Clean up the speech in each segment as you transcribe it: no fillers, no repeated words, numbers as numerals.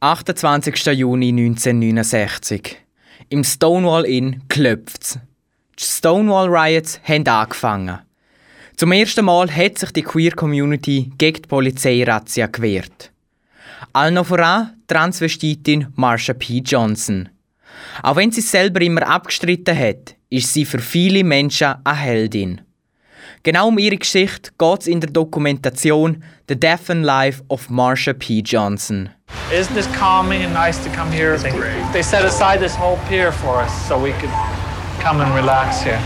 28. Juni 1969. Im Stonewall Inn klopft's. Die Stonewall Riots haben angefangen. Zum ersten Mal hat sich die Queer-Community gegen die Polizeirazzia gewehrt. Allen noch voran Transvestitin Marsha P. Johnson. Auch wenn sie es selber immer abgestritten hat, ist sie für viele Menschen eine Heldin. Genau um ihre Geschichte geht es in der Dokumentation The Death and Life of Marsha P. Johnson. Isn't this calming and nice to come here? They set aside this whole pier for us so we could come and relax here.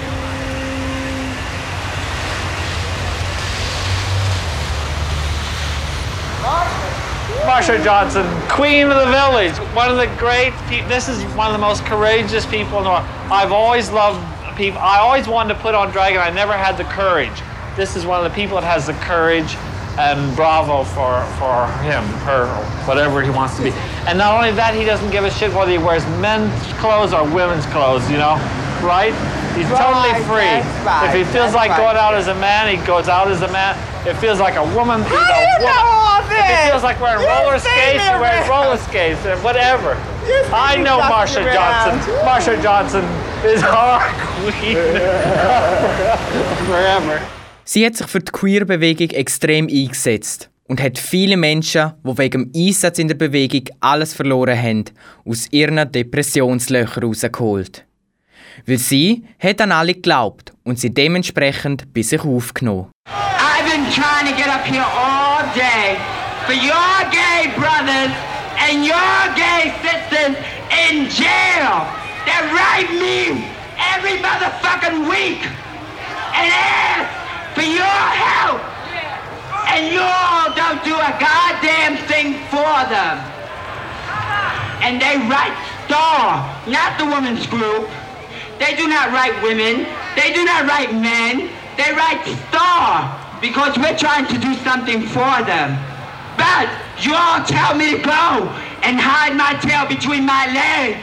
Marsha Johnson, Queen of the Village, one of the great people. This is one of the most courageous people in the world. I've always loved people. I always wanted to put on drag and I never had the courage. This is one of the people that has the courage, and bravo for him, her, whatever he wants to be. And not only that, he doesn't give a shit whether he wears men's clothes or women's clothes, you know, right? He's totally free. Right. If he feels like going out as a man, he goes out as a man. If it feels like a woman, he's a woman. If he feels like wearing roller skates, he wears roller skates, and whatever. I know Marsha Johnson. Marsha Johnson is our queen. Forever. Sie hat sich für die Queer-Bewegung extrem eingesetzt und hat viele Menschen, die wegen dem Einsatz in der Bewegung alles verloren haben, aus ihren Depressionslöchern rausgeholt. Weil sie hat an alle geglaubt und sie dementsprechend bei sich aufgenommen. I've been trying to get up here all day for your gay brothers and your gay sisters in jail. They write me every motherfucking week and ask for your help. And you all don't do a goddamn thing for them. And they write Star, not the women's group. They do not write women. They do not write men. They write Star because we're trying to do something for them. But you all tell me to go and hide my tail between my legs.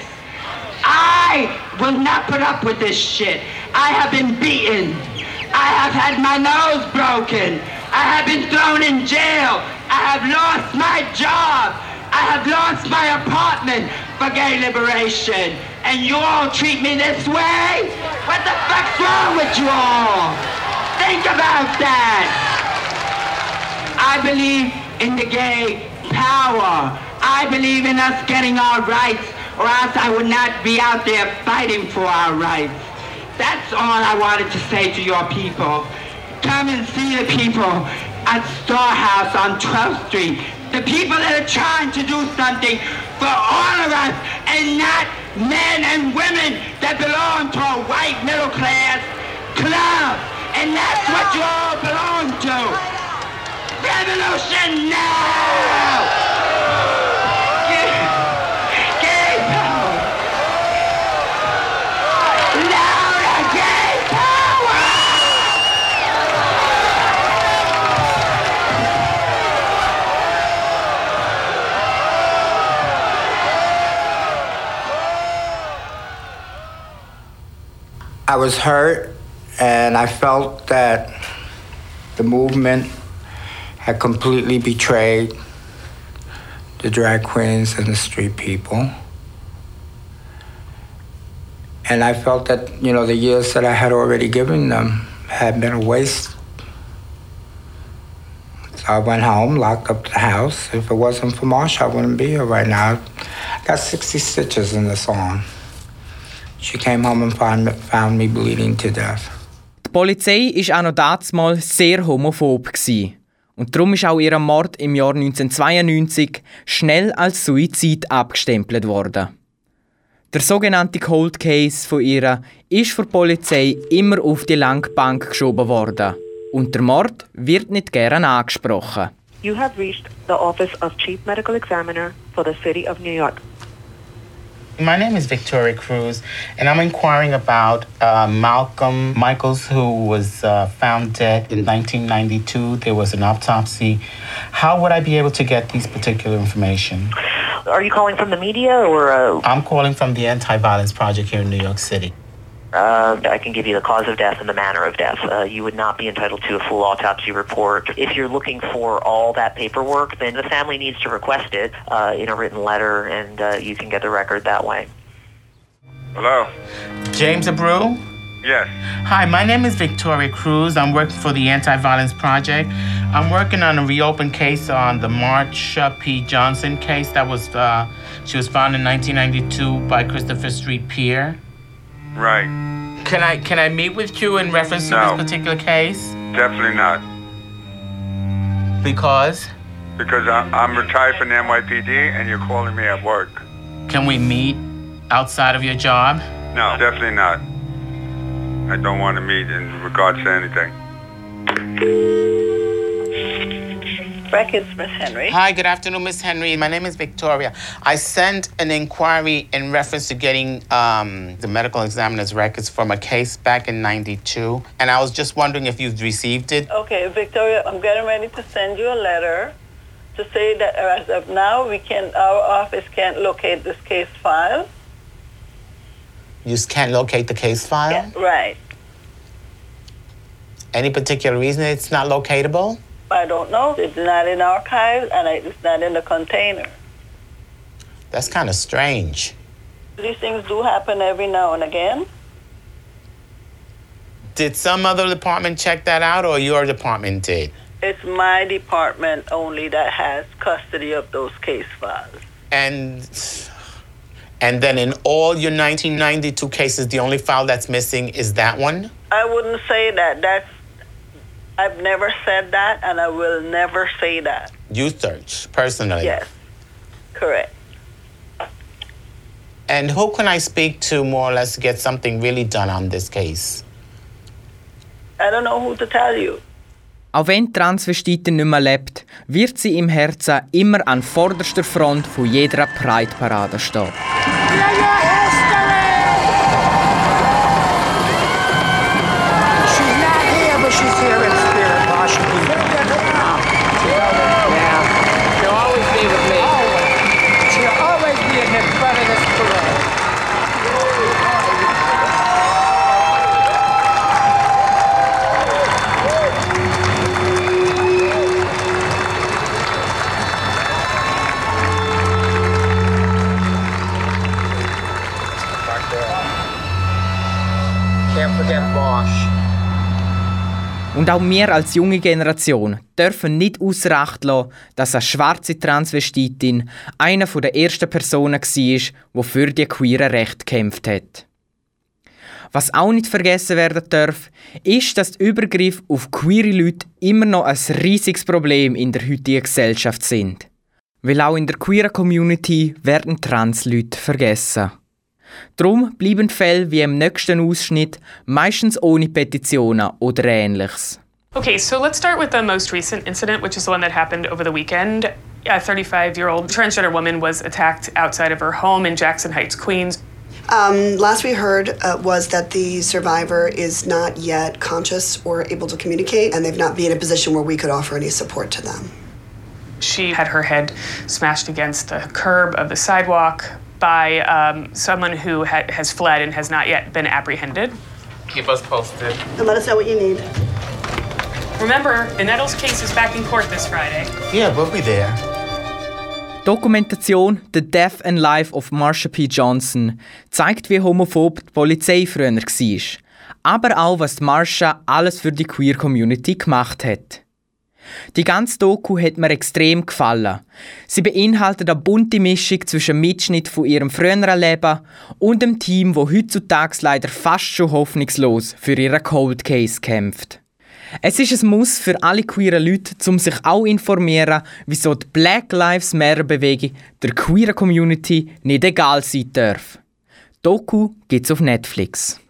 I will not put up with this shit. I have been beaten. I have had my nose broken. I have been thrown in jail. I have lost my job. I have lost my apartment for gay liberation. And you all treat me this way? What the fuck's wrong with you all? Think about that. I believe in the gay power. I believe in us getting our rights, or else I would not be out there fighting for our rights. That's all I wanted to say to your people. Come and see the people at Star House on 12th Street. The people that are trying to do something for all of us and not men and women that belong to a white middle class club. And that's what you all belong to. Revolution now! I was hurt, and I felt that the movement had completely betrayed the drag queens and the street people. And I felt that, the years that I had already given them had been a waste. So I went home, locked up the house. If it wasn't for Marsha, I wouldn't be here right now. I got 60 stitches in this arm. She came home and found me bleeding to death. Die Polizei war auch noch damals sehr homophob. Und darum ist auch ihr Mord im Jahr 1992 schnell als Suizid abgestempelt worden. Der sogenannte Cold Case von ihr ist für die Polizei immer auf die Langbank geschoben worden. Und der Mord wird nicht gern angesprochen. You have reached the Office of Chief Medical Examiner for the City of New York. My name is Victoria Cruz, and I'm inquiring about Malcolm Michaels, who was found dead in 1992. There was an autopsy. How would I be able to get these particular information? Are you calling from the media or? I'm calling from the Anti-Violence Project here in New York City. I can give you the cause of death and the manner of death. You would not be entitled to a full autopsy report. If you're looking for all that paperwork, then the family needs to request it in a written letter, and you can get the record that way. Hello? James Abreu? Yes. Hi, my name is Victoria Cruz. I'm working for the Anti-Violence Project. I'm working on a reopened case on the Marsha P. Johnson case that was, she was found in 1992 by Christopher Street Pier. Right. Can I meet with you in reference to this particular case? Definitely not. Because? Because I'm retired from the NYPD and you're calling me at work. Can we meet outside of your job? No, definitely not. I don't want to meet in regards to anything. Records, Miss Henry. Hi, good afternoon, Miss Henry. My name is Victoria. I sent an inquiry in reference to getting the medical examiner's records from a case back in 92, and I was just wondering if you've received it. Okay, Victoria, I'm getting ready to send you a letter to say that as of now, our office can't locate this case file. You can't locate the case file? Yeah, right. Any particular reason it's not locatable? I don't know. It's not in archives, and it's not in the container. That's kind of strange. These things do happen every now and again. Did some other department check that out, or your department did? It's my department only that has custody of those case files. And then in all your 1992 cases, the only file that's missing is that one? I wouldn't say that. I've never said that, and I will never say that. You search, personally? Yes, correct. And who can I speak to more or less to get something really done on this case? I don't know who to tell you. Auch wenn die Transvestitin nicht mehr lebt, wird sie im Herzen immer an vorderster Front von jeder Pride-Parade stehen. Und auch wir als junge Generation dürfen nicht ausser Acht lassen, dass eine schwarze Transvestitin eine der ersten Personen war, die für die queeren Rechte gekämpft hat. Was auch nicht vergessen werden darf, ist, dass die Übergriffe auf queere Leute immer noch ein riesiges Problem in der heutigen Gesellschaft sind. Weil auch in der queeren Community werden Trans-Leute vergessen. Darum bleiben Fälle wie im nächsten Ausschnitt meistens ohne Petitionen oder Ähnliches. Okay, so let's start with the most recent incident, which is the one that happened over the weekend. A 35-year-old transgender woman was attacked outside of her home in Jackson Heights, Queens. Last we heard was that the survivor is not yet conscious or able to communicate, and they've not been in a position where we could offer any support to them. She had her head smashed against the curb of the sidewalk by someone who has fled and has not yet been apprehended. Keep us posted. And let us know what you need. Remember, the Nettles case is back in court this Friday. Yeah, we'll be there. Dokumentation «The Death and Life of Marsha P. Johnson» zeigt, wie homophob die Polizei früher war. Aber auch, was Marsha alles für die Queer-Community gemacht hat. Die ganze Doku hat mir extrem gefallen. Sie beinhaltet eine bunte Mischung zwischen Mitschnitt von ihrem früheren Leben und dem Team, das heutzutage leider fast schon hoffnungslos für ihren Cold Case kämpft. Es ist ein Muss für alle queeren Leute, um sich auch informieren, wieso die Black Lives Matter Bewegung der queeren Community nicht egal sein darf. Doku gibt's auf Netflix.